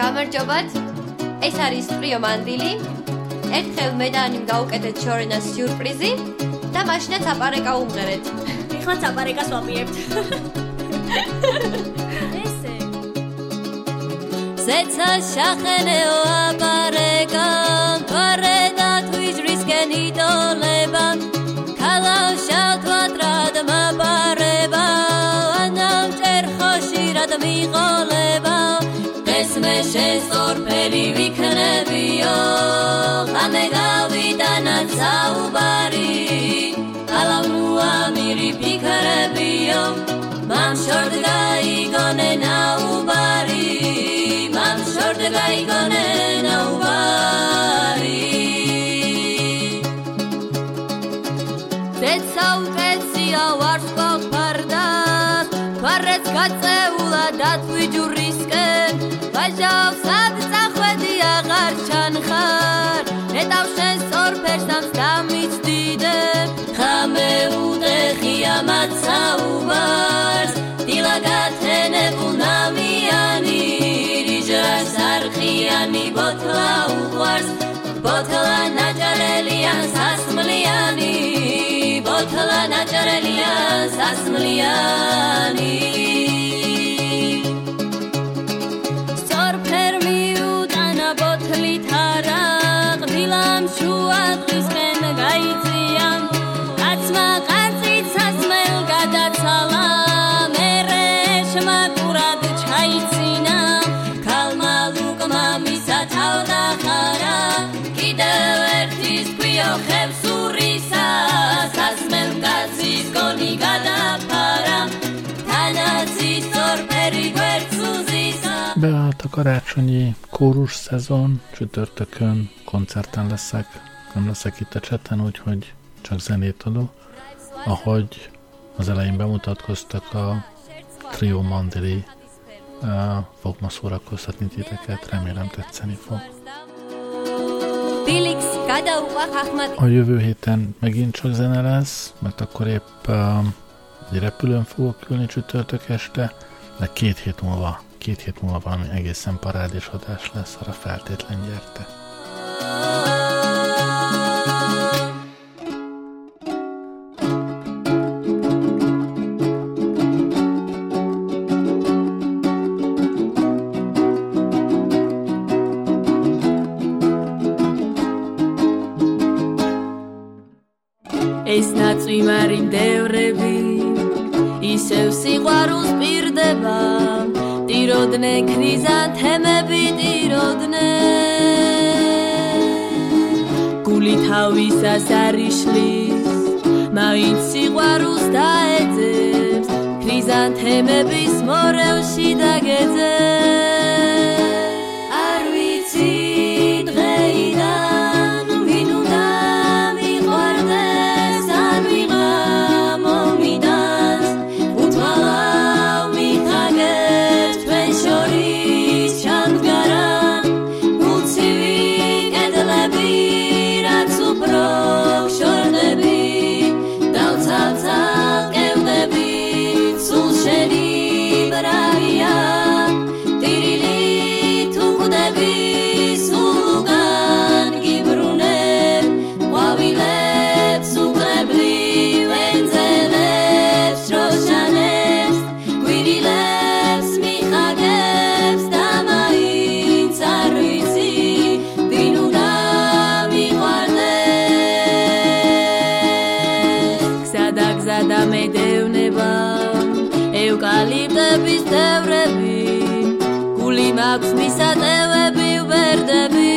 გამარჯობათ. ეს არის ტრიო მანდილი. ერთხელ მე და ანიმ გავუკეთეთ შორენას სიურპრიზი და მაშინაც აპარეკა უმღერეთ. ეხლა აპარეკას ვაპირებთ. ესე. ზეცა შახენეო აპარეკა, თორედა თვიჯრისკენ იტოლება. ქალავშავთ რად მაპარება, ანავჭერ ხოშირად მიყოლება. მე შესწორფერი ვიქნებიო, ხამე გავიტანა საუბარი, ალავნუა მირი ფიქრებიო, მამ შორდ გაიგონე ნაუბარი, მამ შორდ გაიგონე ნაუბარი. ზეცა უკეცია ვარსკვლავ ფარდას, ფარեց გაწეულა დათვიჯურისკენ, ვაჟავს адцახვედი აღარ ჩანხარ, ნეტავ შენ სწორფერს ამს დამიცდიდე, ხამე უტეხია მათ საუბარს, დილა გათენებულ ნამიანი, რიჟრას არხიანი ბოთლა უყვარს, ბოთლა ნაჭარელია სასმლიანი, ბოთლა ნაჭარელია სასმლიანი. Beállt a karácsonyi kórus szezon, csütörtökön koncerten leszek, nem leszek itt a cseten, úgyhogy csak zenét adok. Ahogy az elején bemutatkoztak, a Trio Mandili fog ma szórakoztatni titeket, remélem tetszeni fog. A jövő héten megint csak zene lesz, mert akkor épp egy repülőn fogok ülni csütörtök este, de két hét múlva valami egészen parádés adás lesz, arra feltétlen gyertek. ეს ნაწვიმარი მდევრები ისევ სიყვარულს პირდება, ტიროდნენ ქრიზანთემები ტიროდნენ, გული თავისას არ იშლის, მაინც სიყვარულს დაეძებს, ქრიზანთემების მორევში დაგეძებს. არ ვიცი დღეიდან ვინ უნდა მიყვარდეს, არ ვიღა მომიდანს, უთვალავ მიხაგებს თქვენ შორის ჩამდგარან, გულცივი კედლები, რაც უფრო გშორდები, დავცალ-ცალ კევდები, სულ შენი ბრაია, ტირილით უხდები, სულ უკან გიბრუნებ, ყვავილებს უყრებლივ ენძელებს, დროშანებს, გვირილებს მიხაგებს და მაინც არ ვიცი, ვინ უნდა მიყვარდეს. გზადა მედევნება, ევკალიპტების თევრები, გული მაქვს მისატევები ვბერდები,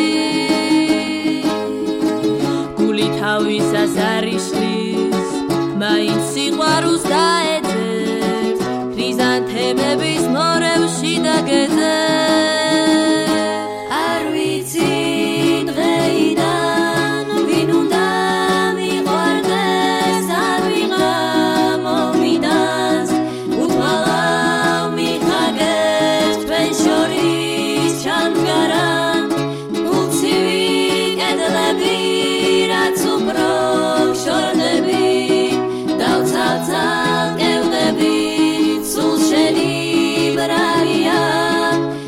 გული თავისას არ იშლის, მაინც სიყვარულს დაეძებს, ქრიზანთემების მორევში დაგეძებს. არ ვიცი დღეიდან ვინ უნდა მიყვარდეს, არ ვიღა მომიდანს, უთვალავ მიხაგებს თქვენ შორის ჩამდგარან, გულცივი კედლები, რაც უფრო გშორდები, დავცალ-ცალ კევდები, სულ შენი ბრაია,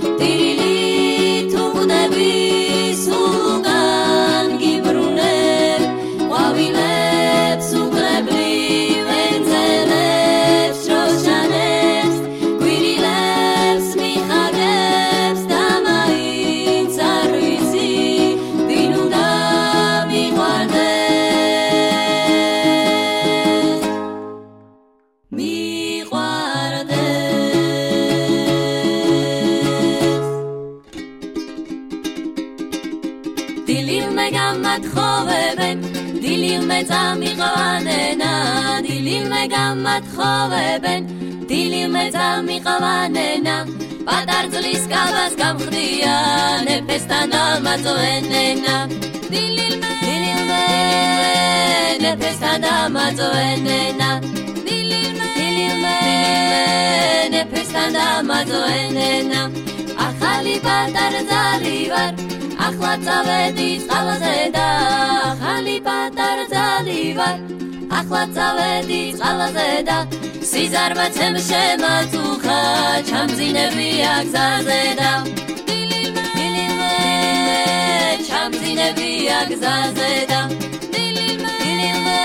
მათხოვებენ დილილმე წამიყვანენა დილილმე გამათხოვებენ დილილმე წამიყვანენა პატარძლის კაბას გამხდიან ეფესთან დამაწვენენა დილილმე ეფესთან დამაწვენენა დილილმე ეფესთან დამაწვენენა ახალი პატარძალი ვარ ახლა წავედი წყალზე და ახალი პატარძალი ვარ ახლა წავედი წყალზე და სიზარმაცემ შემაწუხა ჩამძინებია გზაზე და დილილმე ჩამძინებია გზაზე და დილილმე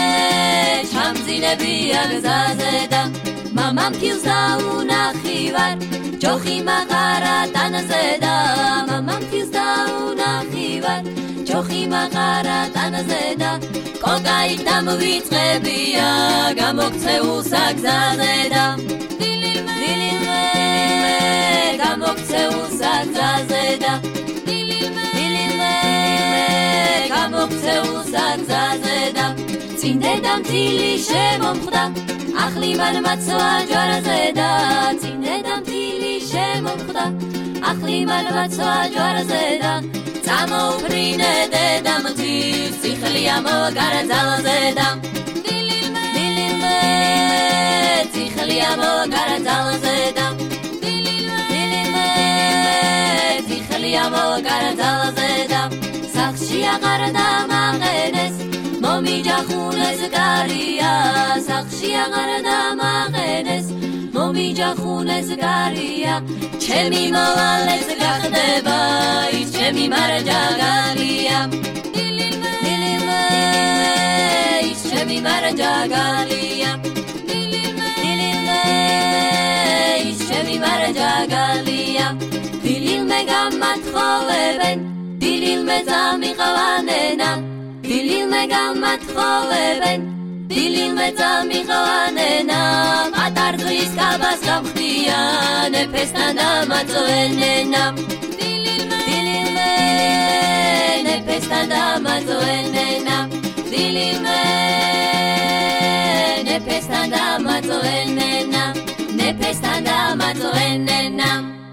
ჩამძინებია გზაზე და მამამ ფილს დაუნახი ვარ ჯოხი მაღარა ტანზე და მამამ ფილს დაუნახი ვარ ჯოხი მაღარა ტანზე და კოკაი დამვიწყებია გამოქცეულსა გზაზე და დილილმე გამოქცეულსა გზაზე და დილილმე გამოქცეულსა გზაზე და წინდედამ თილი შემომხვდა ახლი მან მაცვა ჯვარზე და წინდედამ თილი შემომხვდა ახლი მან მაცვა ჯვარზე და წამოუფრინე დედამ თილს ციხლია მოგარა ძალზე და დილილმე ციხლია მოგარა ძალზე და დილილმე ციხლია მოგარა ძალზე და სახში აღარ დამაყენეს მომიჯახუნეს გარია სახში აღარ დამაყენეს მომიჯახუნეს გარია ჩემი მოვალეც გახდება ის ჩემი მარჯაგალია დილილმე ის ჩემი მარჯაგალია დილილმე ის ჩემი მარჯაგალია დილილმე გამათხოვებენ დილილმე წამიყვანენა დილილმე გამათხოვებენ დილილმე წამიყვანენა პატარძლის კაბას გამხდიან ეფესთან დამაწვენენა დილილმე ეფესთან დამაწვენენა დილილმე ეფესთან დამაწვენენა ეფესთან დამაწვენენა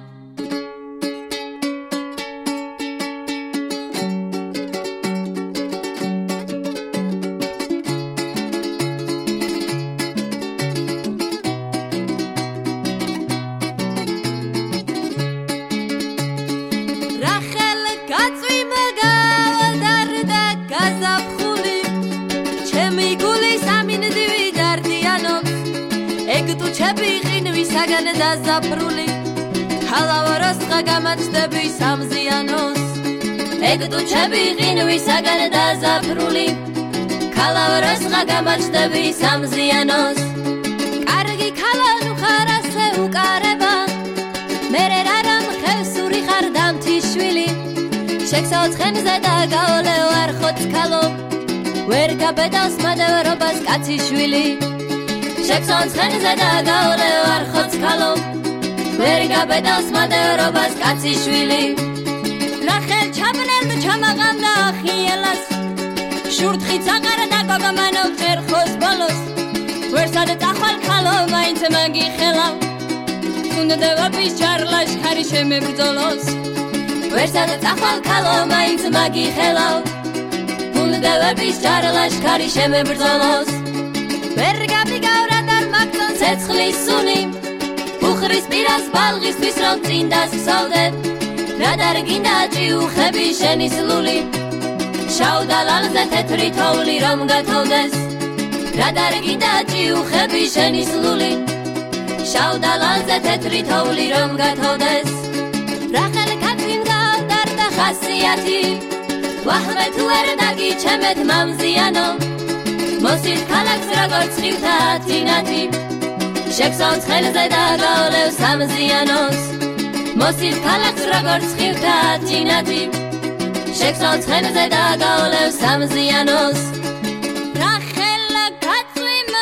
საგან დაზაფრული ხალავაროსყა გამაჩდები სამზიანოს ეგ დუჩები ღინვი საგან დაზაფრული ხალავაროსყა გამაჩდები სამზიანოს კარგი ქალანუ ხარასე უკარება მერე რარამ ხევსური ხარ დამთიშვილი შექსაოცხენზე და გაოლე ვარ ხოცხალო ვერ გაბედავს მადევრობას კაციშვილი შექსაოცხენზე და გაოლე ვარ ხოცხალო ვერ გაბედავს მადევრობას კაციშვილი რახელ ჩაბნელდ ჩამაღამდა ახიელას შურთხიც აღარა და გოგომანო წერხოს ბოლოს ვერსად წახვალ ქალო მაინც მაგიხელავ უნდევების ჩარლაშქარი შემებრძოლოს ვერსად წახვალ ქალო მაინც მაგიხელავ უნდევების ჩარლაშქარი შემებრძოლოს ვერ გაბიგავრა და მაგწონ ცეცხლის სუნი უხრის პირას ბალღისთვის რომ წინ დასხსოვდე რა დარგინდა ჭიუხები შენი სლული შავ დალალზე თეთრი თოვლი რომ გათოვდეს რა დარგინდა ჭიუხები შენი სლული შავ დალალზე თეთრი თოვლი რომ გათოვდეს რახელ კაციმ გავდარდა ხასიათი ვაჰმე თუ ვერ დაგიჩემეთ მამზიანო მოსით ქალაქს როგორც ხივთა თინათი შექსაოცხენზე და გაოლევ სამზიანოს მოსით ქალაქს როგორც ხივთა თინათი შექსაოცხენზე და გაოლევ სამზიანოს რახელა კაცვიმ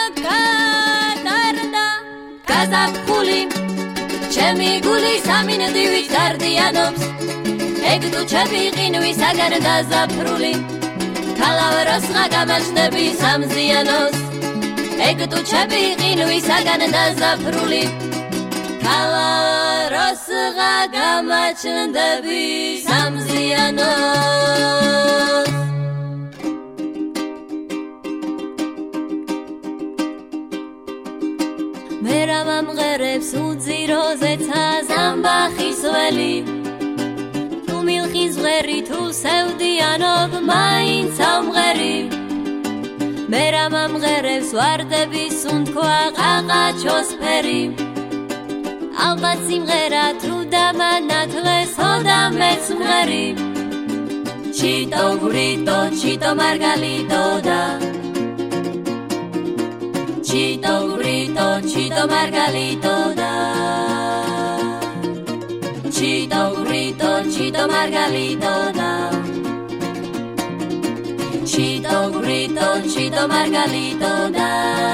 გადარდა გაზაფხული ჩემი გული სამინდივით დარდიანობს ეგ დუჩები ყინვისაგან დაზაფრული ქალავეროს ღაგამაჩნდები სამზიანოს ეგ ტუჩები ყინვისაგან დაზაფრული ქალავეროს ღაგამაჩნდები სამზიანოს მერა მომღერებს უძიროზე ზამბახის ველი თუ მილხის ღერი თუ სევდიანობ მაინც ამღერი მერა მომღერებს ვარდები სუნთქვა ყაყაჩოს ფერი ალბათ სიმღერა თუ დამანათლეს ოდამეც მღერი ჩიტო გვრიტო ჩიტო მარგალიტო და Chito grito, chito margalito da Chito grito, chito margalito da Chito grito, chito margalito da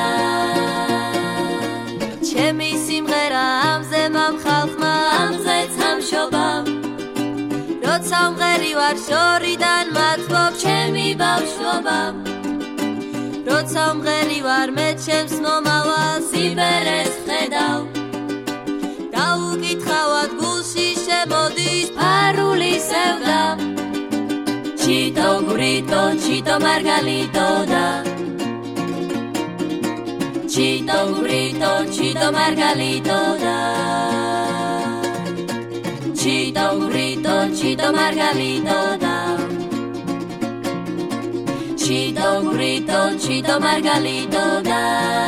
Chemi simghera amze mam khalkhma amze tsam shobam Rotsa umgheri var shoridan matvob chemi bavshobam როცა მღერი ვარ მე ჩემს მომავალს იბერეს ხედავ დაუკითხავად გულში შემოდის ფარული სევდა ჩიტო გვრიტო ჩიტო მარგალიტო და ჩიტო გვრიტო ჩიტო მარგალიტო და ჩიტო გვრიტო ჩიტო მარგალიტო და Chito grito, chito margalito da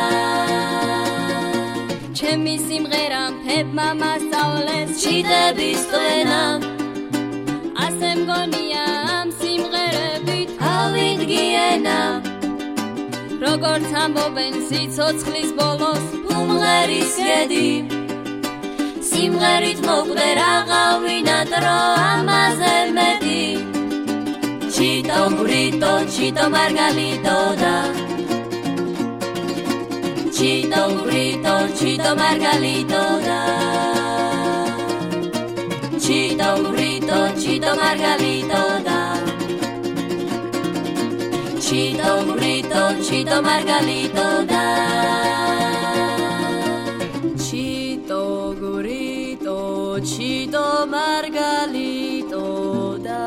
Chemi simgheram pep mama saules chite bistena Asem goniam simgherebit avid giena Როგორც ამბობენ სიცოცხლის ბოლოს უმღერის ხედი სიმღერით მოკვდე რაღავინა დრო ამაზე მეტი Chito grito, chito margalito da Chito grito, chito margalito da Chito grito, chito margalito da Chito grito, chito margalito da Chito grito, chito margalito da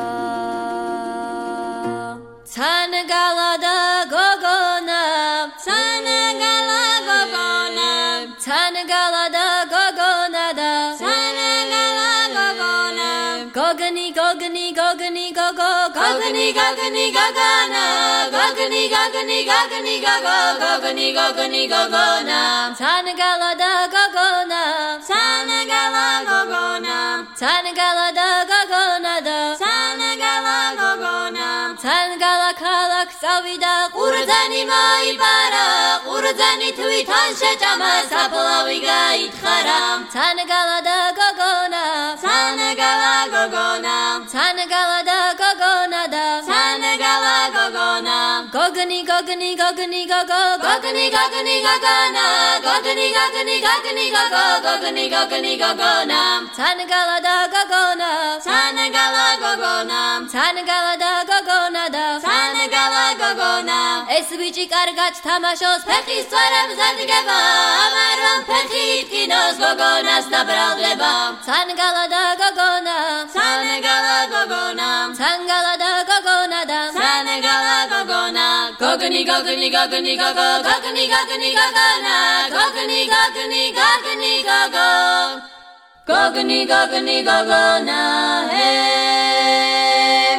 Tanagala da gogona Tanagala gogona Tanagala da gogona da Tanagala gogona Gogani gogani gogani gogo Gogani gogani gogona Gogani gogani gogani gogo Gogani gogani gogona Tanagala da gogona Tanagala gogona Tanagala da gogona da Tanagala gogona Tanagala kalak savida Qurdzani maibara Qurdzani twitan shechama Sapalavi gaitkhara Tanagala da gogona Tanagala gogona Tanagala da gogona da Tanagala gogona Gogani gogani gogani gogo Gogani gogani gogona Gogani gogani gogani gogo Gogani gogani gogona Tanagala da gogona Tanagala gogona Tanagala da gogona da Tanagala gogona Es bichi kargat tamashos Pekis tvarem zadigeba Amaram pekit kinos gogonas nabraleba Tanagala da gogona Tanagala gogona Tanagala da gogona da Tanagala gogona Gogani gogani gogani gogo Gogani gogani gogona Gogani gogani gogani gogo Gogani gogani gogona Hey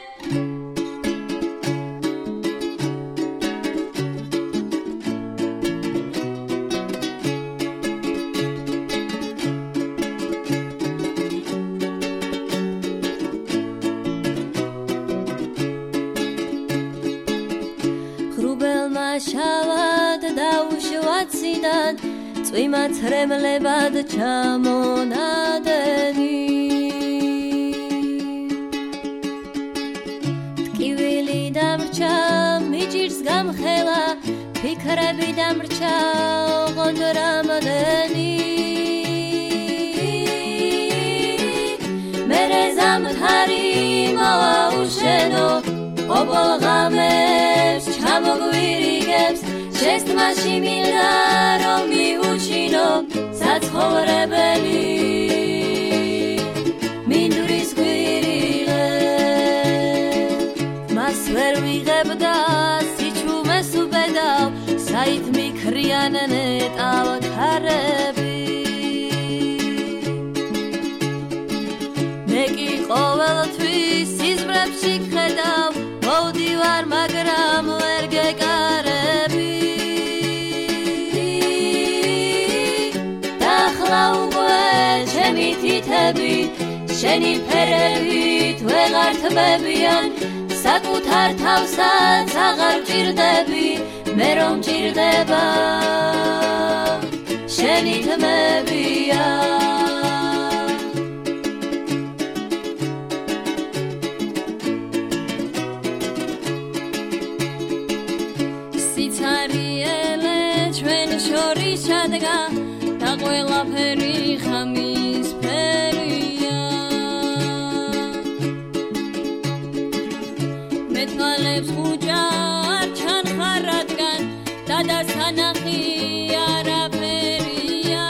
შავად დაუშვაციდან წვიმაც რემლებად ჩამონადენი ტკივილი დამრჩა მიჭირს გამხელა ფიქრები დამრჩა ოღონდ რამადენი მერე ზამთარი მოვაუშენო ყოფილ ღამებს ჩამოგვირიგებს შენს თმაში მინდა რომ მიუჩინო საცხოვრებელი მინდვრის გვირილე მას ვერ ვიღებდა სიჩუმეს უბედავ საით მიქრიან ნეტავ ქარები მე კი ყოველთვის სიზმრებში ხედავ მოვდივარ მაგრამ ვერ გეკარები ახლა უკვე ჩემი თითები შენი ფერებით ვეღარ თმებიან საკუთარ თავსაც აღარ ჭირდები მე რომ ჭირდება შენი თმებია სიცარიელე ჩვენ შორის ჩადგა და ყველაფერი ხამის ფერია მე თვალებს ხუჭა არ ჩანხარ რადგან დადასანახი არაფერია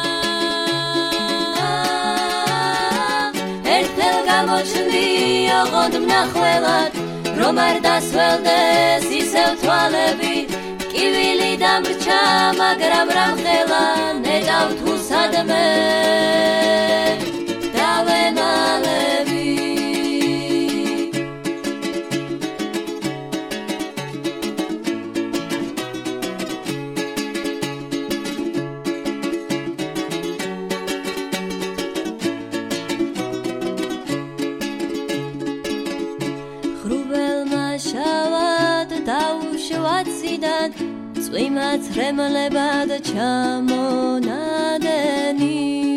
ერთხელ გამოჩნდი ოღონდ მნახველად რომ არ დასველდეს ისევ თვალები კივილი დამრჩა მაგრამ რამხელა ნეტავ თუ სადმე დავემალები ხრუბელმა შავად დაუშვაციდან წვიმაც რემლებად ჩამონადენი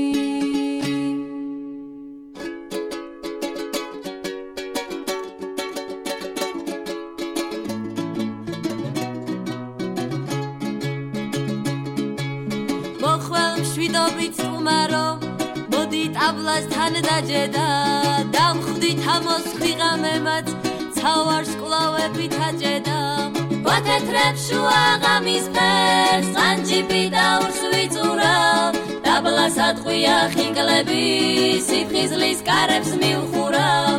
მოხვალ მშვიდობით სტუმარო მოდი ტაბლასთან დაჯედა დამხვდით ამოსხვი ღამემაც ცავარს კლავებით აჯედა ვათეთრებ შუა ღამის ფერს ყანჯიბი დაურს ვიწურავ დაბლას ატყვია ხინკლები სიფხიზლის კარებს მივხურავ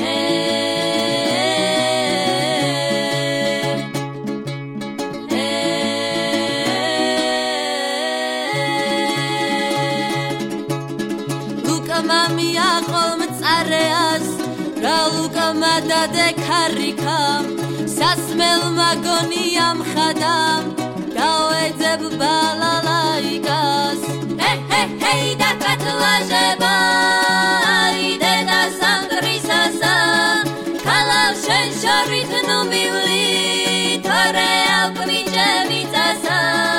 ლუკა მამია ყოლმწარეას რა ლუკა მადადე ქარიკა სასმელმა გონიამ ხადამ დავეძებ ბალალაიკას ჰეი დაკათლაჟება იდე და სამგრისასა ქალავ შენ შორით ნუ მივლი თორე აკვიჭე მიწასა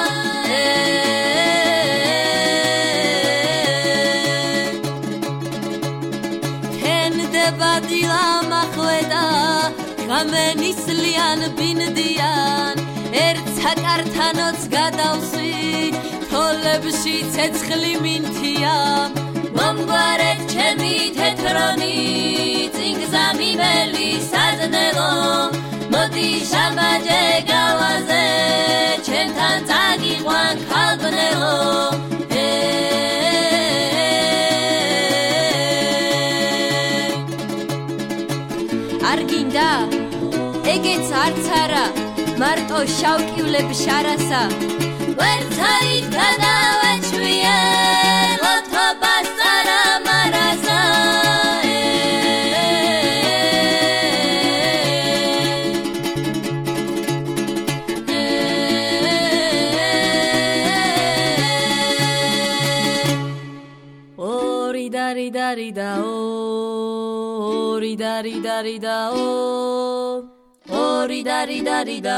თენდება დილა მახვედა გამენისლიან ბინდიან ერთ საკართანოც გადავსვი თოლებში ცეცხლი მინთია მომგვარეთ ჩემი თეთრონი წინგზამიველი საზნელო მოდი შაბაჯე გავაზე ჩემთან წაგიყვან ქალბნელო არ გინდა ეგეც არც არა მარტო შავკივლებ შარასა ვერცაით გადავეჩვიე ლოთობას წარა მარასა ორი დარი დარი და ორი დარი დარი და ორი დარი დარი და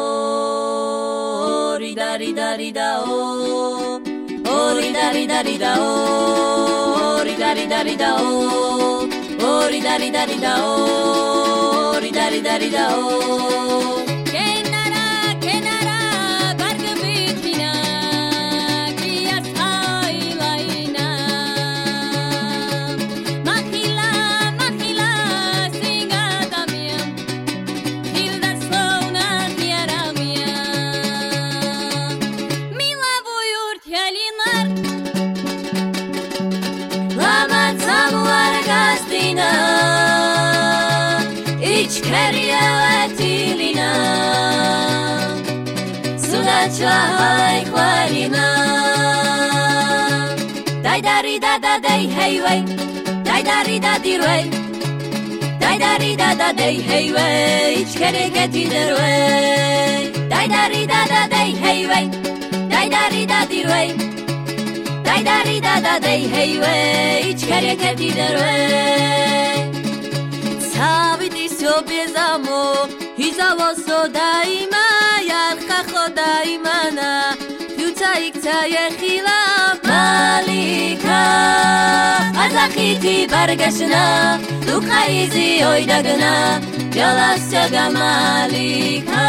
ორი დარი დარი და ორი დარი დარი და ორი დარი დარი და ორი დარი დარი და ორი დარი დარი და Sunachai Kwarina Dai dari da da day hey way Dai dari da dir way Dai dari da da day hey way Ich kere geti der way Dai dari da da day hey way Dai dari da dir way Dai dari da da day hey way Ich kere geti der way Saviti sobezamo Hizavoso daima Yarcha chodaimana Fiuta ikta yechila Malika Azachiti bargashna Lukha izi oidagna Yolasyaga Malika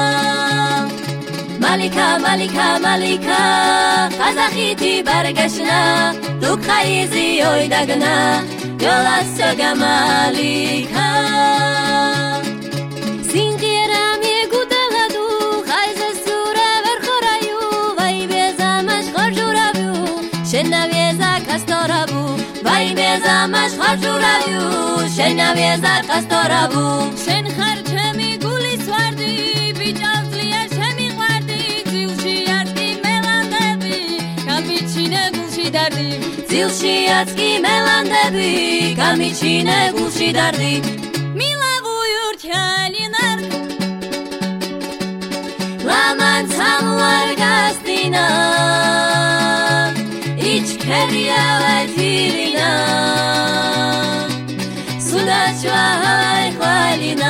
Malika, Malika, Malika Azachiti bargashna Lukha izi oidagna Yolasyaga Malika Singiram yegudaladu Chayze sura verchorayu Vai bezamash chorjuravu Shenavieza kastoravu Vai bezamash chorjuravu Shenavieza kastoravu Shen kharchemi gulis vardi Bijavzliya shemi vardi Zilshi yatki melandebi Kamichine gulshi dardi Zilshi yatki melandebi Kamichine gulshi dardi Kalinar Laman samuar gastina Ich keria latirina Sunachwa halina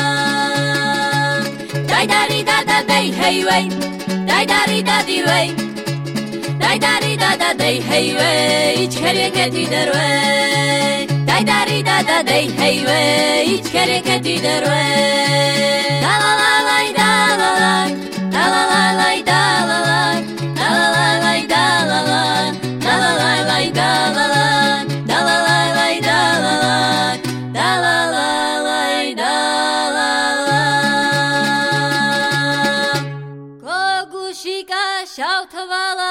Dai dari da da day hey way Dai dari da dir way Dai dari da da day hey way Ich keria geti der way Dai dari da da day hey way Ich kere geti der way Da la la la da la la Da la la la da la la Da la la la da la la Da la la la da la la Da la la la da la la Da la la la da la la Kogushika shautvala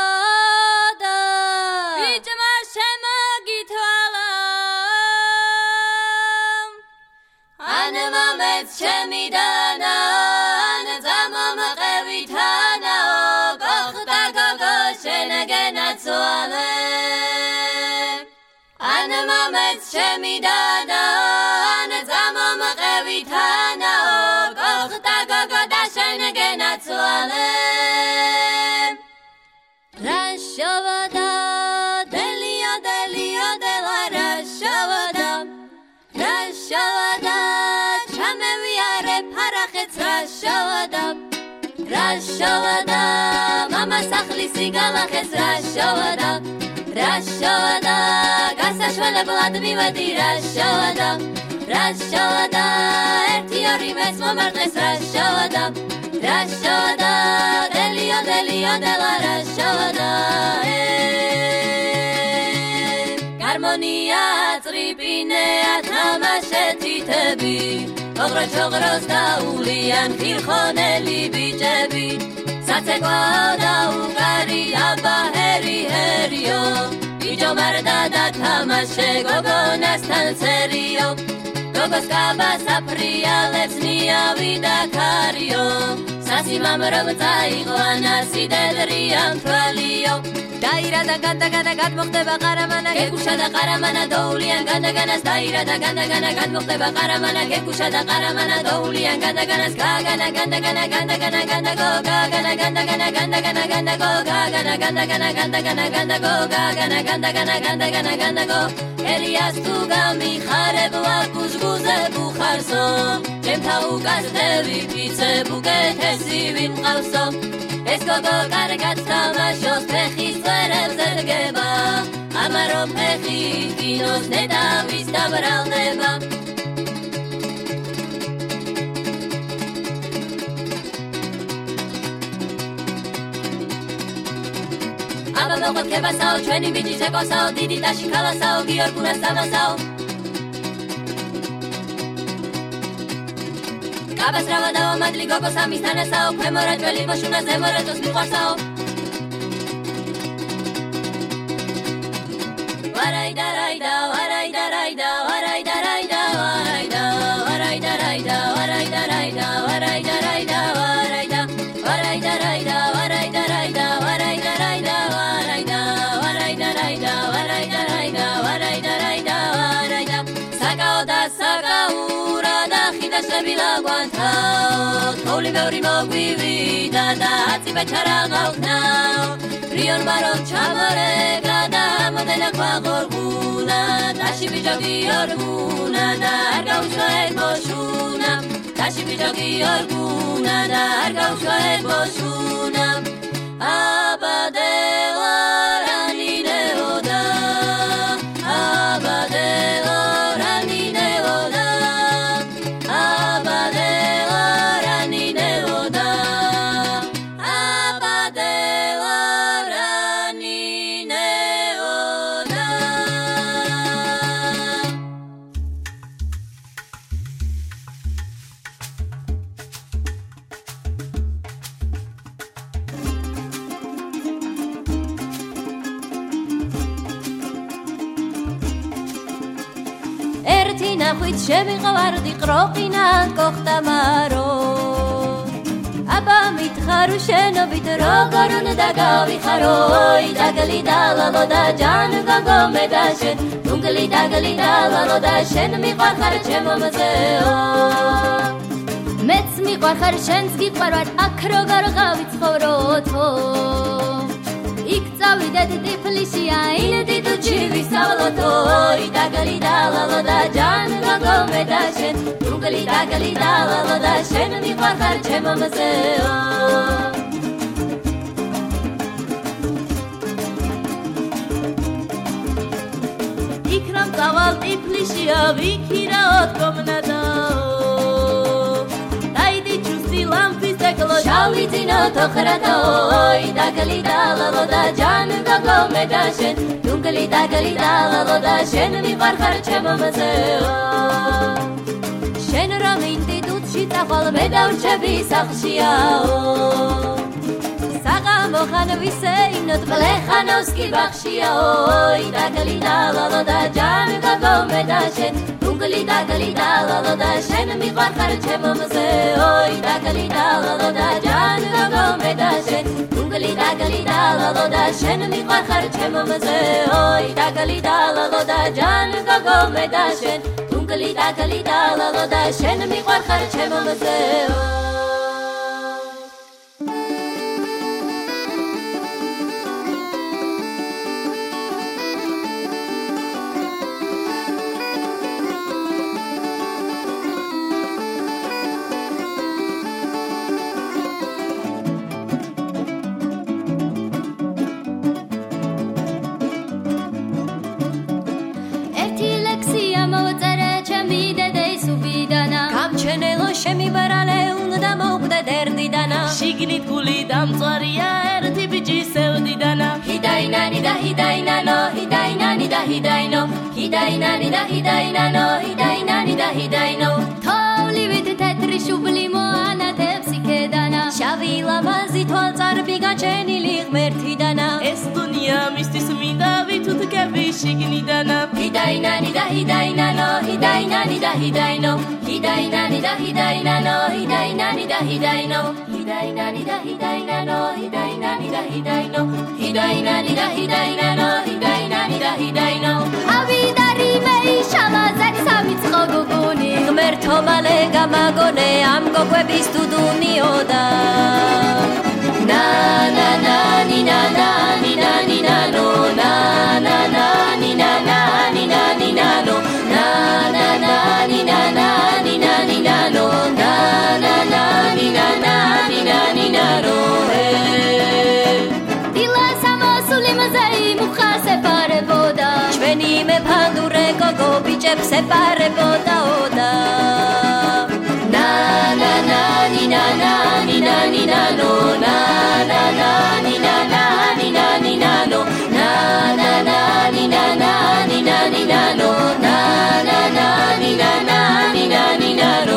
Chemidana Nezamam qevitana Gokhta gogo shenagena tsuale Anamamet chemidana Nezamam qevitana Gokhta gogo da shenagena tsuale Rashavada Delio delio de la Rashavada Rashavada Rashavada Mama sakhli sigala khes Rashavada Rashavada Gasa shvele blad mivadi Rashavada Rashavada Erti ori mes momardles Rashavada Rashavada Delio delio de la Rashavada Harmonia tripine atamashet tebi Ogro chogros da ulian khirkhoneli bijebi Satsekwa da ugari abba heri herio Bijo marda da tamashe gogo nastan serio Gogos kaba sapria lepsnia vida kario Sasi mamrom taigo anasi dedrian twalio Daira da ganda gana gad muhteba qaramana Kekusha da qaramana doulian ganda ganas Daira da ganda gana gad muhteba qaramana Kekusha da qaramana doulian ganda ganas Gagana ganda gana ganda gana ganda go Gagana ganda gana ganda gana ganda go Gagana ganda gana ganda gana ganda go Gagana ganda gana ganda gana ganda go Elias tu gami khareb wa guzguze bukharso Jemta ugazdevi pitze bugetesi vin qavso Es gogo kargat tamashos pechis tverel zergeba Amaro pechi kinos nedavis dabral neba Aba mogot kebasao, chweni biji zekosao Didi dashi kalasao, gior kunas tamasao Kabas ravadao, madli gogo samis tanesao Kvemorat veli boshuna zemoretos miqvarsao Varayda rayda, varayda rayda, varayda rayda, varayda Varayda rayda, varayda rayda, varayda rayda, varayda Varayda rayda Ashnabi la guantao Toli meuri mogvivi Dada hatzi bacharagau now Rion baron chamare Grada modena kwa gorguna Tashi bijogi orguna Darga ushoed boshuna Tashi bijogi orguna Darga ushoed boshuna Abadela rani neoda Abadela rani neoda Abadela rani neoda Abadela rani neoda Ertina khut shemi qavardi qroqina kokhta maro Aba mitkharu sheno bidro garun dagavi kharoy dagali dalalo da jan gago medashen Dungali dagali dalalo da shen mi qakhar chemamzeo Mets mi qakhar shenski qarvat akro gargavit khoroto Ik zavide diplishiya in Didu chivi savloto dagali dalalo da jan gago medashen Dungali dagali dalalo da shen mi qakhar chemamzeo Ikram zaval diplishiya vikiraot komnada Daidi chusti lampi seklo Shavitino tokhrato dagali dalalo da jan gago medashen Dungali dagali dalalo da shen mi qakhar chemamzeo Shen ramindi dutshi taqol medavchebi sakhshiao Saga mokhan viseinot blekhanovski bakhshiao dagali dalalo da jan gago medashen Dungali dagali dalalo da shen mi qakhar chemamzeo dagali dalalo da jan gago medashen Dungali dagali dalalo da shen mi qakhar chemamzeo dagali dalalo da jan gago medashen Dungali dagali dalalo da shen mi qakhar chemamzeo შემიბარალე უნდა მოვკვდე დერდიდანა Shignit guli damtsariya erti biji sevdidana Hidainani da hidainano hidainani da hidaino Hidainani da hidainano hidainani da hidaino Tavlivit tetri shubli moana tepsi kedana Shavi lamazi tolzarbi gacenili gmertidana Es dunya mistis minda vitut kevi shignidana Hidainani da hidainano hidainani da hidaino Hidainani da hidainano hidainani da hidaino Hidainani da hidainano hidainani da hidaino Hidainani da hidainano hidainani da hidaino Avidari mei shala zaksamit khoguguni ღმერთო მალე გამაგონე ამ გოგვების თუდუნიოდა na na na ni na na ni na ni na no na na na ni na na ni na ni na no na na na ni na na ni na ni na no na na na ni na na ni na ni na no Dila samosuli mazai mukhase pareboda ჩვენი მეფანდურე გოგო ბიჭებს ეპარებოდა ოდა na na na ni na na ni na ni na no na na na ni na na ni na ni na no na na na ni na na ni na ni na no na na na ni na na ni na ni na no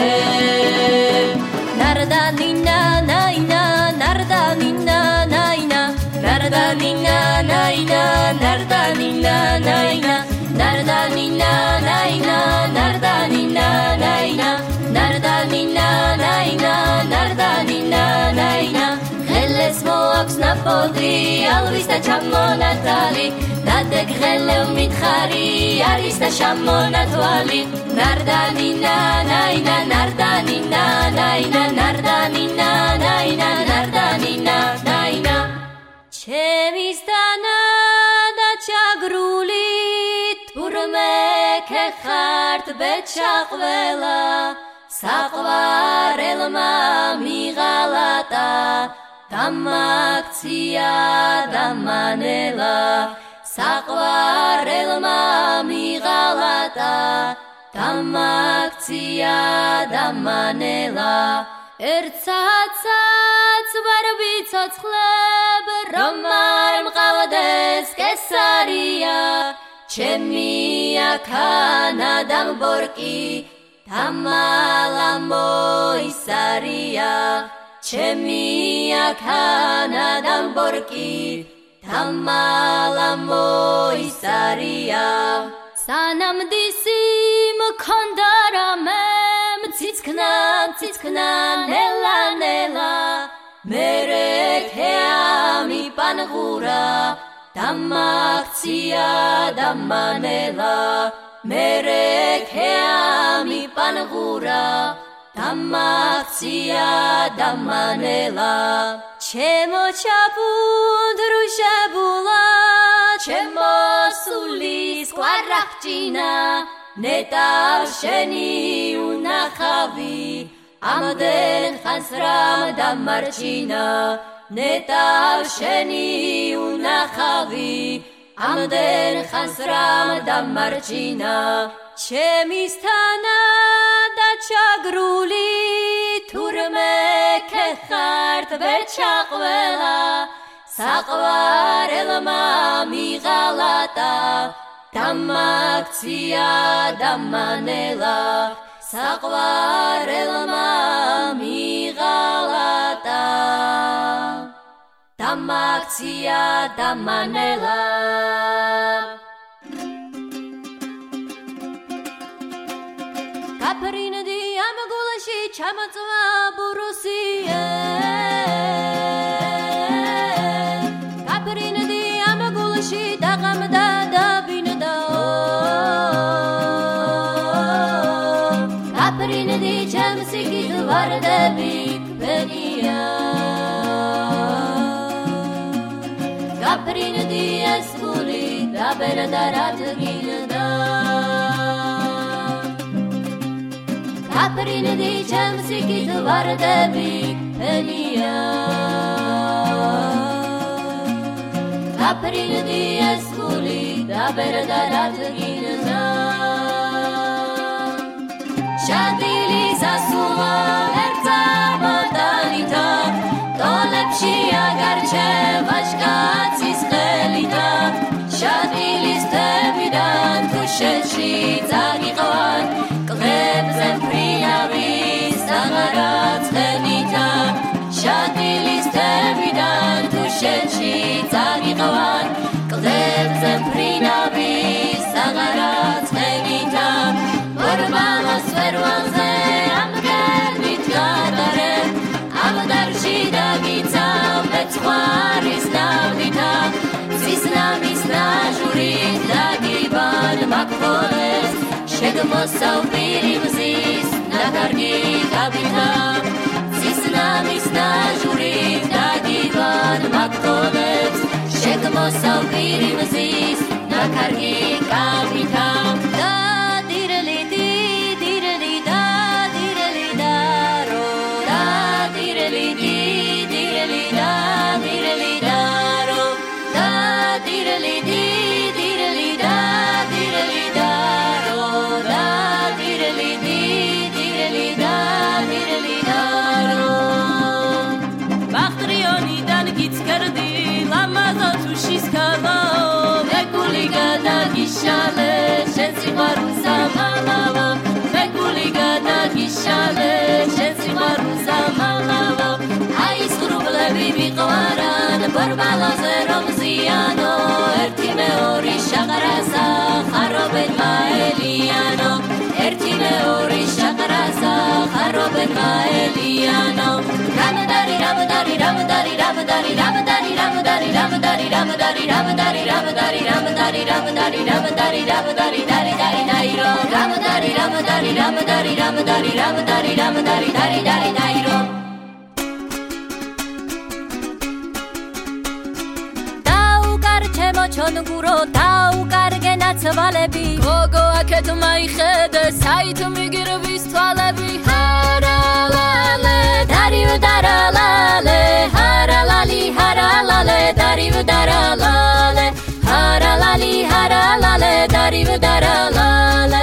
narda ni na na ina narda ni na na ina narda ni na na ina narda ni na na ina narda ni na na ina narda ni na na ina narda ni na na ina narda ni na na ina ხელეს მოაქვს בודרי, אלוויסטה צ'מונה טלי, נדק חלם מתחרי, אריסטה שמונה טואלי, נרדנינה ניינה, נרדנינה ניינה, נרדנינה ניינה, נרדנינה ניינה. שמסתנה דצ'גרולית, ורמקחת בצ'חבלה, סחבר אלמה מגלתה, דמקציה דמנלה, סחבר אלמה מגלתה, דמקציה דמנלה. ארצצץ ברביצץ חלב, רומר מגלדס קסריה, צ'מיה כאן אדם בורקי, תמלמוי סריה, צ'מיה כאן אדם בורקי, תמלמוי סריה. סנם דיסים קונדרמם, ציצקנן ציצקנן נלה נלה, מרק העמי פנחורה, דמקציה דמנלה, מרק העמי פנחורה, דמקציה דמנלה. צ'מו צ'פון דרושה בולה, צ'מו סוליס קווארקצ'ינה, נטב שני ונחבי, עמדן חסרם דמרצ'ינה, נטב שני ונחבי, עמדן חסרם דמרצ'ינה. שמסתנה דצ'גרולי, תורמקחת בצ'חבלה, סחבר אלמה מגלתה, דמקציה דמנלה, סחבר אלמה מגלתה, דמקציה דמנלה. Kaparina di amagulashi chamatwa burusiye, Kaparina di amagulashi dagamda dabinda, Kaparina di chamsikit varde bikpeniya, Kaparina di eskuli daberdarat ginda, Kaparina di chamsikit varde bikpeniya, Kaparina di eskuli daberdarat ginda. Shadili zasuma erza botanita, tolepshi agarche vashkatsi schelita, Shadili stevidan tusheshi zagiqwan, Kleb zemprinavis tagarat schelita, Shadili stevidan tusheshi zagiqwan, Kleb zemprinavis tagarat schelita. Orbanos verwanze amger mitgadare, amdar shida gitza betzwaris navdita, zisna misna jurit dagiban makvoles, shegmosau birim zis nakargi kabita, zisna misna jurit dagiban makvoles, shegmosau birim zis nakargi kabita. Gishale, shensi maruza malava, Bekuliga da gishale, shensi maruza malava, Ais grublevi biqwaran, barbala zerom ziano, erti meori shakarasa, kharobet maeliano, erti meori shakarasa, kharobet maeliano, Ramadari ჩონგურო დაუკარგე ნაცვალები გოგო აქეთ მაიხედე საით მიგირვის თვალები ჰარალალე დარივ დარალალე ჰარალალი ჰარალალე დარივ დარალალე ჰარალალი ჰარალალე დარივ დარალალე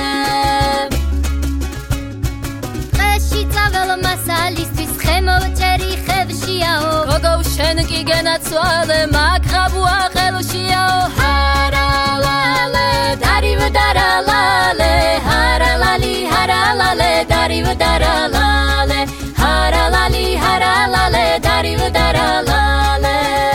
ყეში წავალ მასალისთვის ხემოვჭერი ხევშიაო გოგო შენ კი გენაცვალე მაგღაბუა ხელშიაო ჰარალალე დარივ დარალალე ჰარალალი ჰარალალე დარივ დარალალე ჰარალალი ჰარალალე დარივ დარალალე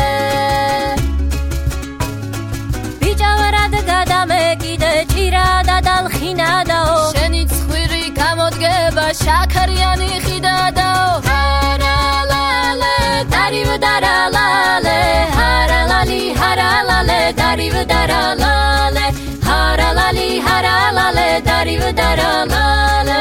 ბიჭავარად გადამეკიდე ჭირადა დალხინადაო შენი ცხვირი გამოდგება შაქარიანი ხიდადაო ჰარალალე დარივ დარალალე ჰარალალი ჰარალალე დარივ დარალალე ჰარალალი ჰარალალე დარივ დარალალე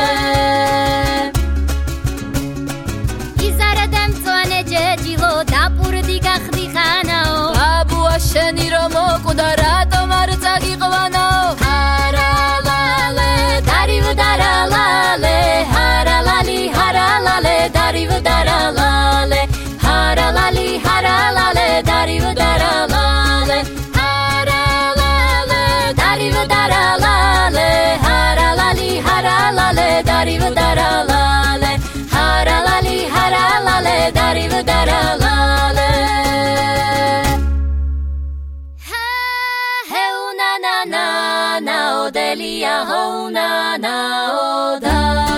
იზარადამ წვანე ჯეჯილო დაპურდი გახდი ხანაო ბაბუა შენი რომ მოკვდა რატომ არ წაგიყვანაო ჰარალალე დარივ დარალალე ჰარალალი ჰარალალე დარივ დარალალე ჰარალალი ჰარალალე დარივ დარალალე ჰარალალე დარივ დარალალე ჰარალალი ჰარალალე დარივ დარალალე ჰარალალი ჰარალალე დარივ დარალალე ჰეუნა ნა ნა ნა ოდელია ჰოუნა ნა ოდა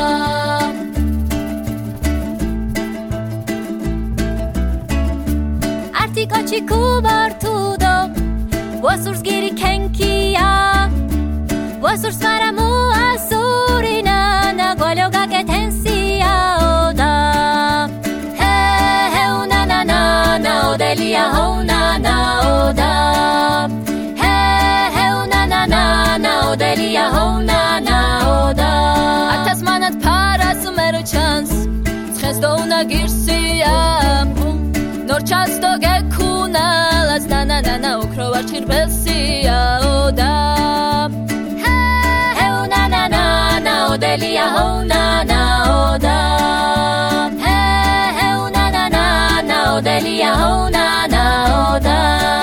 artikochi kubartudo wasurs giri kenkia wasurs maramu asurina na golyoga ketensia oda he una na na na odelia hona na oda he una na na na odelia hona na oda atasmanat paras mero chance ცხეს do una girsia ნორჩას დო გეკუნალას ნანანა ოქრო არ ჩირბელსია ოდა ჰეუნა ნანა ოდელია ჰოუნა ოდა ჰეუნა ნანა ოდელია ჰოუნა ოდა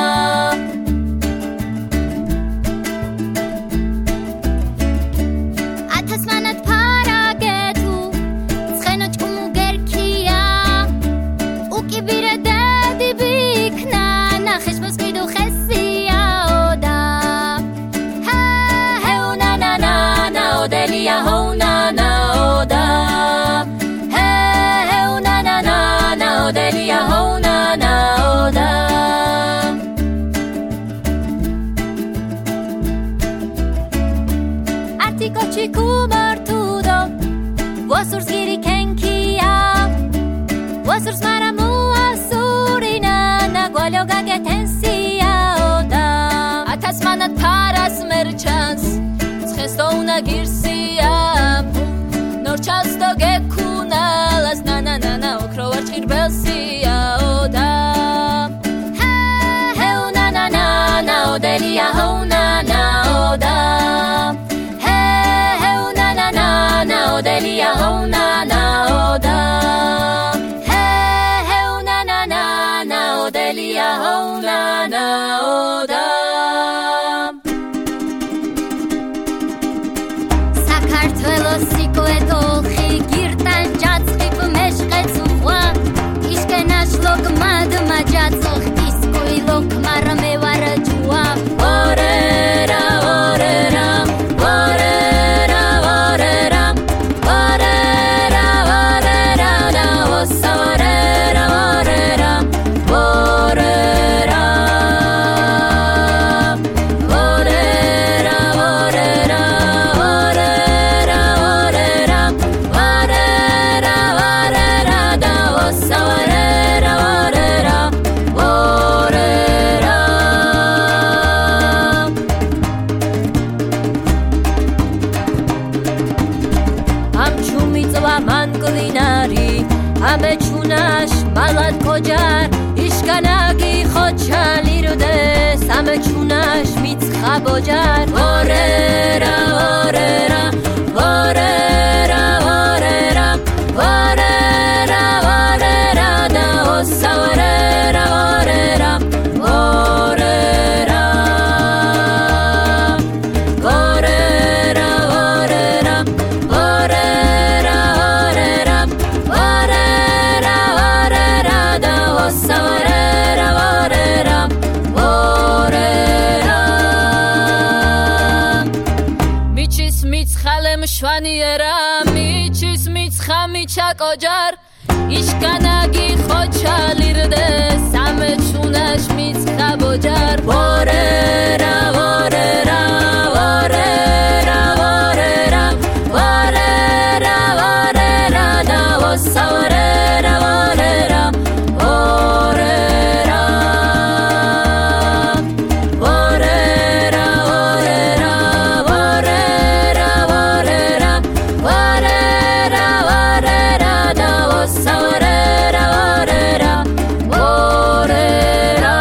ათასმანად ფარაგეთუ ცხენო ჭკუმუ გერქია უკიბირე odelia hona na oda he una na na na odelia hona na oda artikochi kubartudo wasurs giri kenkia wasurs maramu asurina na golyoga ketensia oda atasmanat paras merchants Stona girsia norchas do gekunalas nana okro ar chirbelsia oda he una na na odelia hona na oda he una na na odelia hona na oda he una na na odelia hona na oda Majatsokh iskoi lok marame warajua orera orera orera orera orera orera na osorera orera orera orera orera orera orera orera orera da osorera გლინარი ამეჩუნაშ მალად კოჯარ იშკანაგი ხოჩალირდე სამეჩუნაშ მიცხა ბოჯარ ორერა ორერა ორერა ორერა ორერა ორერა და ოსა ორერა ორერა ორერა ორერა ორერა ორერა ორერა ორერა ორერა და ოსა ორერა ორერა ორერა მიჩის მიცხალემ შვანიერა მიჩის მიცხა მიჩაკოჯარ იშკანაგი ხოჩალირდე სამეჩუნაშ მიცხა ბოჯარ ორერა ორერა ორერა ორერა ორერა ორერა და ოსა ორერა ორერა ორერა ორერა ორერა ორერა ორერა ორერა ორერა და ოსა ორერა ორერა ორერა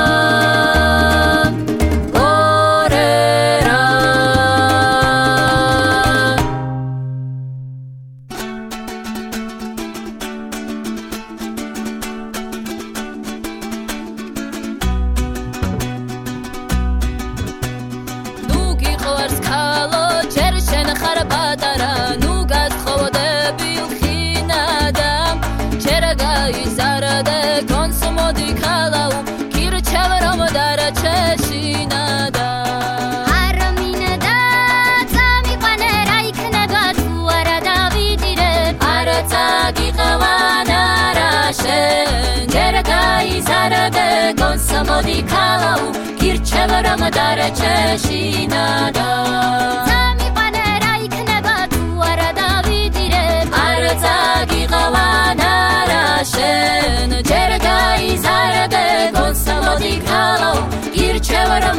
ნუ გიყვარს ქალო ჯერ შენ ხარ პატარა ნუ გასხოვდები ხინადა ჯერ გაიზარდე კონსმოდი ქალაუ გირჩევ რომ დარჩეშინადა არმინდა წამიყვანე რა იქნება თუ არა დავიდირებ არაცა გიყვანა რა შენ ჯერ გაიზარდე კონსმოდი ქალაუ გირჩევ რომ დარჩეშინადა წამიყვანე რა იქნება თუ არა დავიდირებ არაცა გიყვანა რა შენ ჯერ გაიზარდე კონსმოდი ქალაუ გირჩევ რომ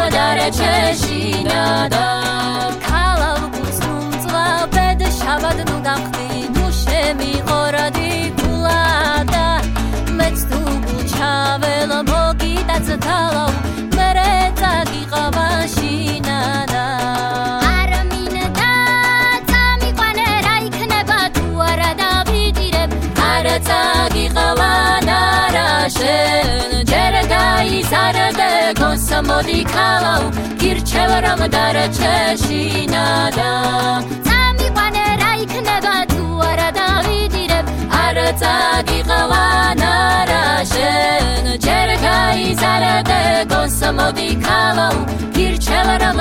დარჩეშინადა ქალაუ გუცნუმწვა ბედ შაბად ნუ დამხდი ნუ შემიყორადი გულადა მეც თუ გუჩაველო მოგიტაცთალაუ მერე წაგიყავა შინადა არმინდა წამიყვანე რა იქნება თუ არა დავიდირებ არაცა გიყვანა რა შენ ჯერ გაიზარდე კონსმოდი ქალაუ გირჩევ რომ დარჩეშინადა წამიყვანე რა იქნება თუ არა დავიდირებ არაცა გიყვანა რა შენ ჯერ გაიზარდე კონსმოდი ქალაუ გირჩევ რომ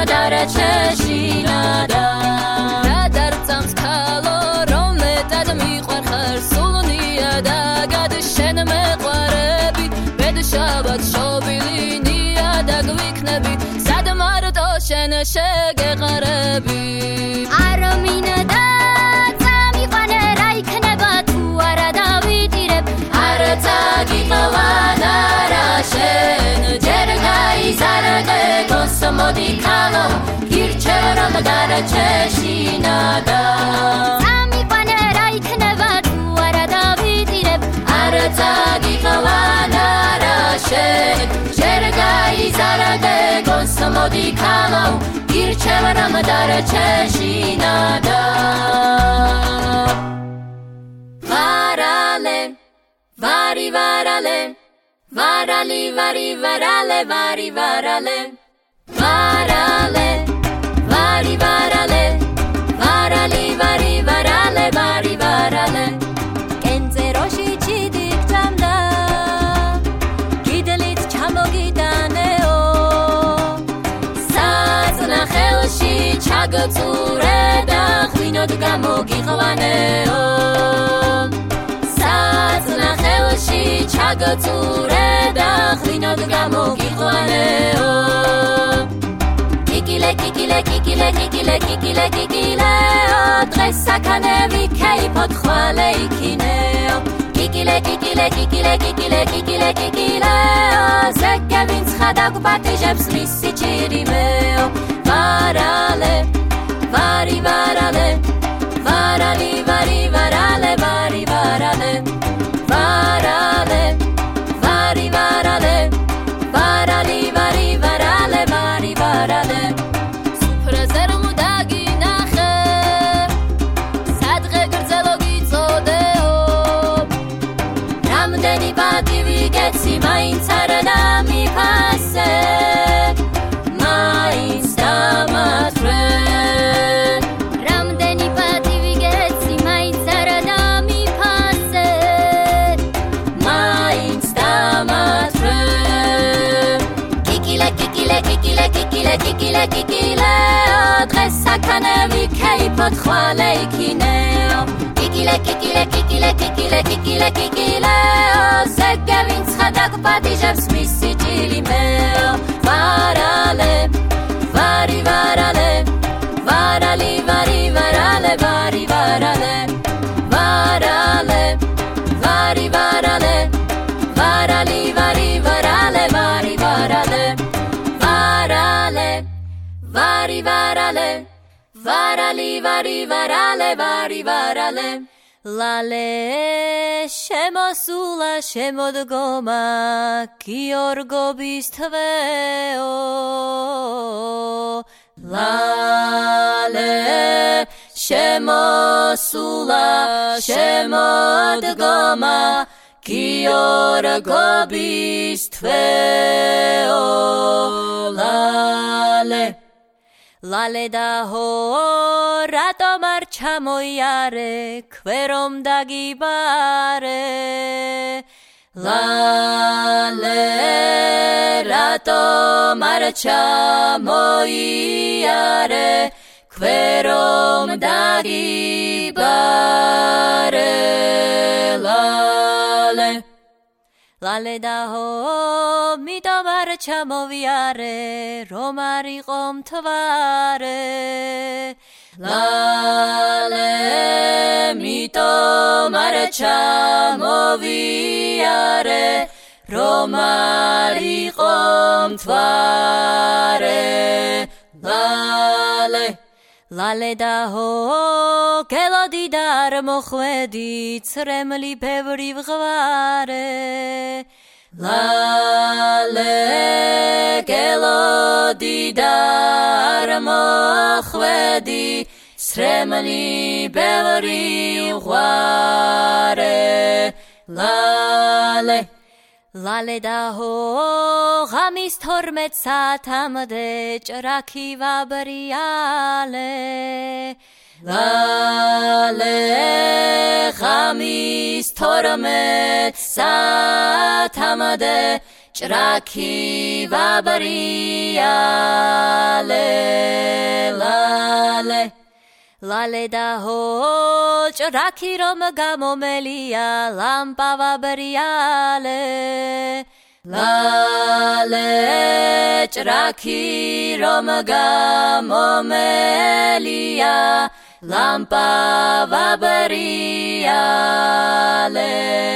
დარჩეშინადა რა დარწამს ქალო რომ მეტად მიყვარ ხარ სულნია და გად შენ მეყვარები ბედშაბად შობილი ნია და გვიქნები სად მარტო შენ შეგეყარები არმინდა წამიყვანე რა იქნება თუ არა დავიდირებ არაცა გიყვანა რა შენ ჯერ გაიზარდე კონსმოდი ქალაუ გირჩევ რომ დარჩეშინადა წამიყვანე რა იქნება თუ არა დავიდირებ არაცა გიყვანა რა შენ ჯერ გაიზარდე კონსმოდი ქალაუ გირჩევ რომ დარჩეშინადა ვარალე ვარი ვარალე ვარალი ვარი ვარალე ვარი ვარალე ვარალე ვარი ვარალე ვარალი ვარი ვარალე ვარი ვარალე კენწეროში ჩიდიქჭამდა გიდლით ჩამოგიტანეო საწნახელში ჩაგწურე და ღვინოდ გამოგიყვანეო საწნახელში ჩაგწურე და ღვინოდ გამოგიყვანეო კიკილე კიკილე კიკილე კიკილე კიკილე კიკილეო დღეს საქანები ქეიფოთ ხვალე იქინეო კიკილე კიკილე კიკილე კიკილე კიკილე კიკილეო ზეგე ვინც ხადაგპატიჟებს მისი ჭირიმეო ვარალე ვარი ვარალე ვარალი ვარი ვარალე ვარი kikile adres akanemi kei potcho alekineo kikile zegevin tschadak patijevs misitili meo varale vari varale varali vari varale vari varale varale vari varale varali vari varale vari varale varale vari varale varali vari varale vari varale lale shemosula shemodgoma kiorgo bistveo lale shemosula shemodgoma kiorgo bistveo lale lale da ho rato marcha moiare kverom dagibare lale rato marcha moiare kverom dagibare lale lale da ho mi to marcha moviare romari qom tvare lale mi to marcha moviare romari qom tvare lale lale da ho kelodi dar mokhvedi tsremli pevri vgvare lale kelodi dar mokhvedi tsremli pevri vgvare lale lale da ho ghamis tormet satamde ჭრაკი ვაბრიალე lale ghamis tormet satamde ჭრაკი ვაბრიალე lale lale da ho ჭრაკი რომ გამომელია ლამპა ვაბრიალე lale ჭრაკი რომ გამომელია ლამპა ვაბრიალე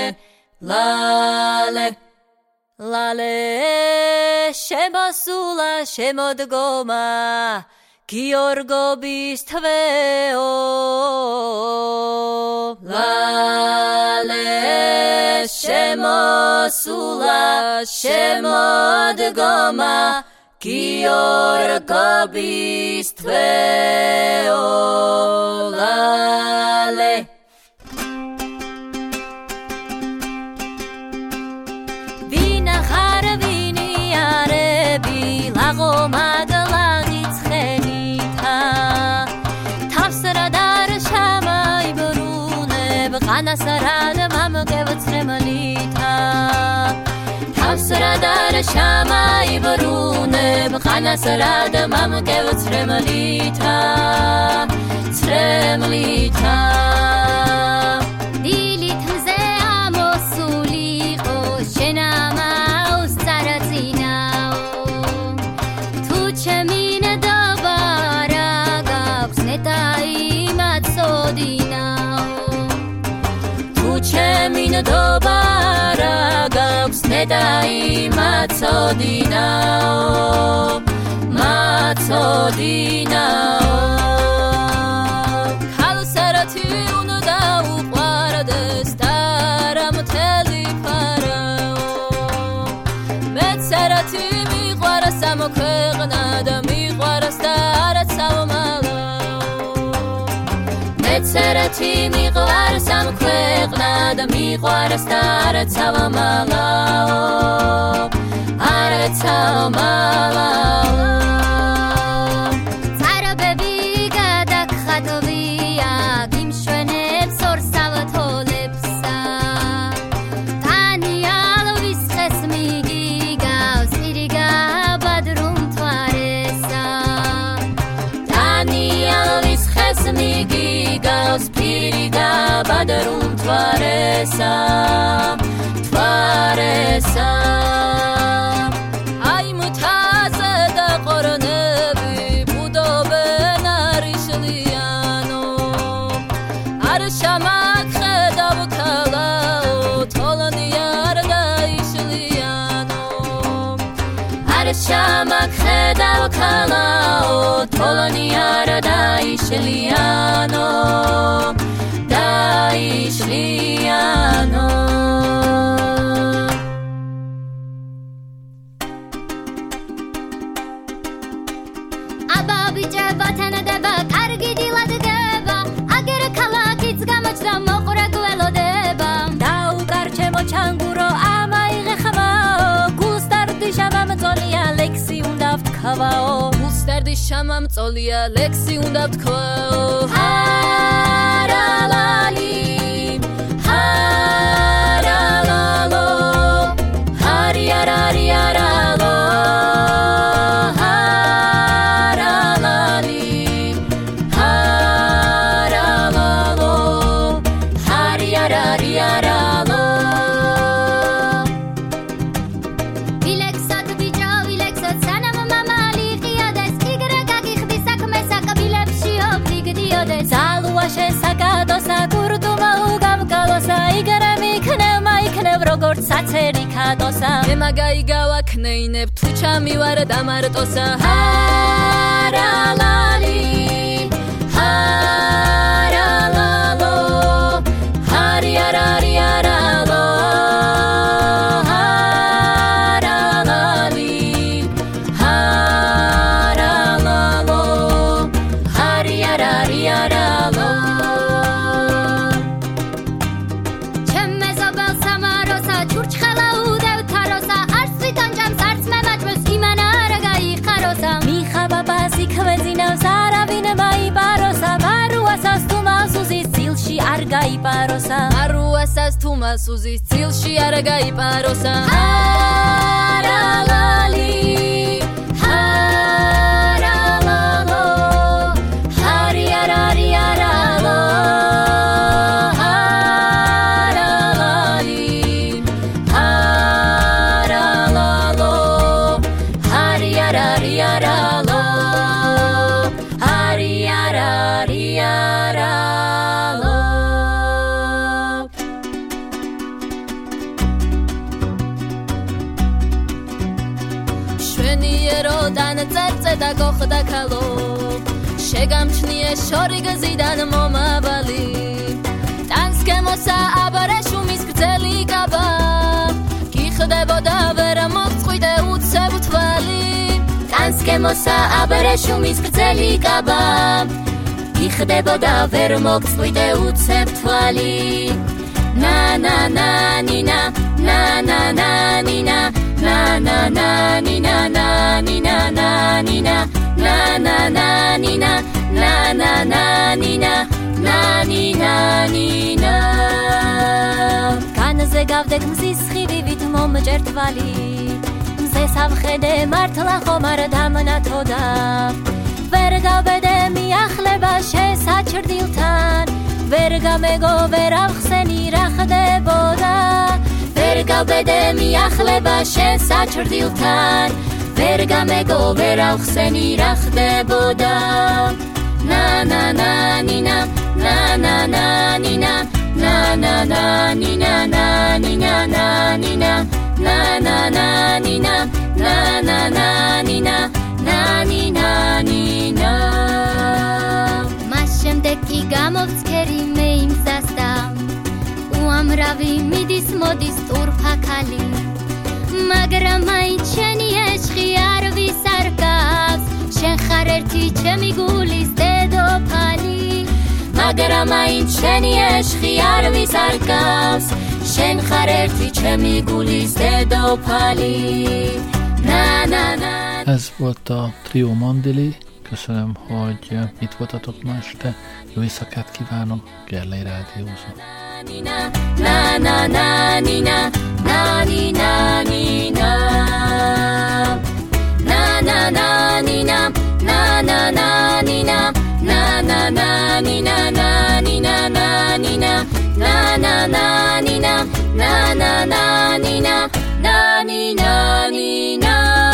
lale lale შემოსულა შემოდგომა Giorgo bistveo lale shemosula shemodgoma Giorgo bistveo lale Vina kharvini arebi lagomad Qanasarad mamgevtsremalita Tavsradar shamai bruneb Qanasarad mamgevtsremalita Tsremlita Dilit mze amosuliqo shenama ustaratinao Tu chemin dobara gavs netai matsodinao Chemin dobara gavs nedai matsodinao Kalsarati unuda uqvardes daram teli parao Metsarati miqvaras amokveqna da miqvaras darat savmalao Metsarati miqvaras amokveqna da miqvaras darat savmalao arat savmalao Daniel visqes migi gavs iriga badrum tvaresa ბადრუნ თვარესამ აი მუთაზე და ყორნები ბუდობენ არიშლიანო არ შამაკხედავ ქალაო თოლონი არ გაიშლიანო არ შამაკხედავ ქალაო თოლონი არ დაიშლიანო ჩანგურო ამაიღე ხმაო გულსტარდი შამამწოლია ლექსი უნდა ვთქვაო გულსტარდი შამამწოლია ლექსი უნდა ვთქვაო ჰარალალი ჰარალალო ჰარიარარი არალო ჰარალალი ჰარალალო ჰარიარარი არალო შესაკადოსა კურტუმა უგამკალოსა იგრე მიქნევ მაიქნევ როგორც საცერი ქადოსა მე მაგაიგავა ქნეინებ თუ ჩამივარ დამარტოსა ჰარალალი ჰარალალო ჰარიარარი არალო ჰარალალი ჰარალალო ჰარიარარი არალო გაიპაროსა არუასას თუმასუზის წილში არ გაიპაროსა ჰარალალი ჰარალალო ჰარიარარი არალო ჰარალალი ჰარალალო ჰარიარარი არალო ჰარიარარი არალო და გოხდა ქალო შეგამჩნიე შორი გზიდან მომავალი ტანსკემოსა აბარაშუმის გრძელი კაბა გიხდებოდა ვერ მოგწყვიდე უცებ თვალი ტანსკემოსა აბარაშუმის გრძელი კაბა გიხდებოდა ვერ მოგწყვიდე უცებ თვალი na na na nina na na na nina na na na nina na nina na nina na na na nina na na na nina na nina nina განზე გავდეთ მზის ხივივით მომჭერტვალი მზე სამხედე მართლა ხომ არ დამნათოდა ვერ გავბედე მიახლება შესაჩრდილთან ვერ გამეგო ვერ ავხსენი რა ხდებოდა ვერ გავბედე მიახლება შესაჩრდილთან ვერ გამეგო ვერ ავხსენი რა ხდებოდა na na na nina na na na nina na na na nina na nina na nina na na na nina na na na nina na nina nina შემდეგ კი გამოვცქერი მე იმ გზასდა უამრავი მიდის მოდის ტურფაქალი მაგრამ მაინც შენი ეშხი არ ვისარგავს შენ ხარ ერთი ჩემი გულის დედოფალი მაგრამ მაინც შენი ეშხი არ ვისარგავს შენ ხარ ერთი ჩემი guli szedopali. Ez volt a Trio Mandili. Köszönöm, hogy itt voltatok ma este. Jó éjszakát kívánok, Gerlei Rádiózó. Na na na ni na na ni na ni na na na na ni na na na na ni na na na na ni na na ni na na ni na na na ni na na na na ni na na ni na ni na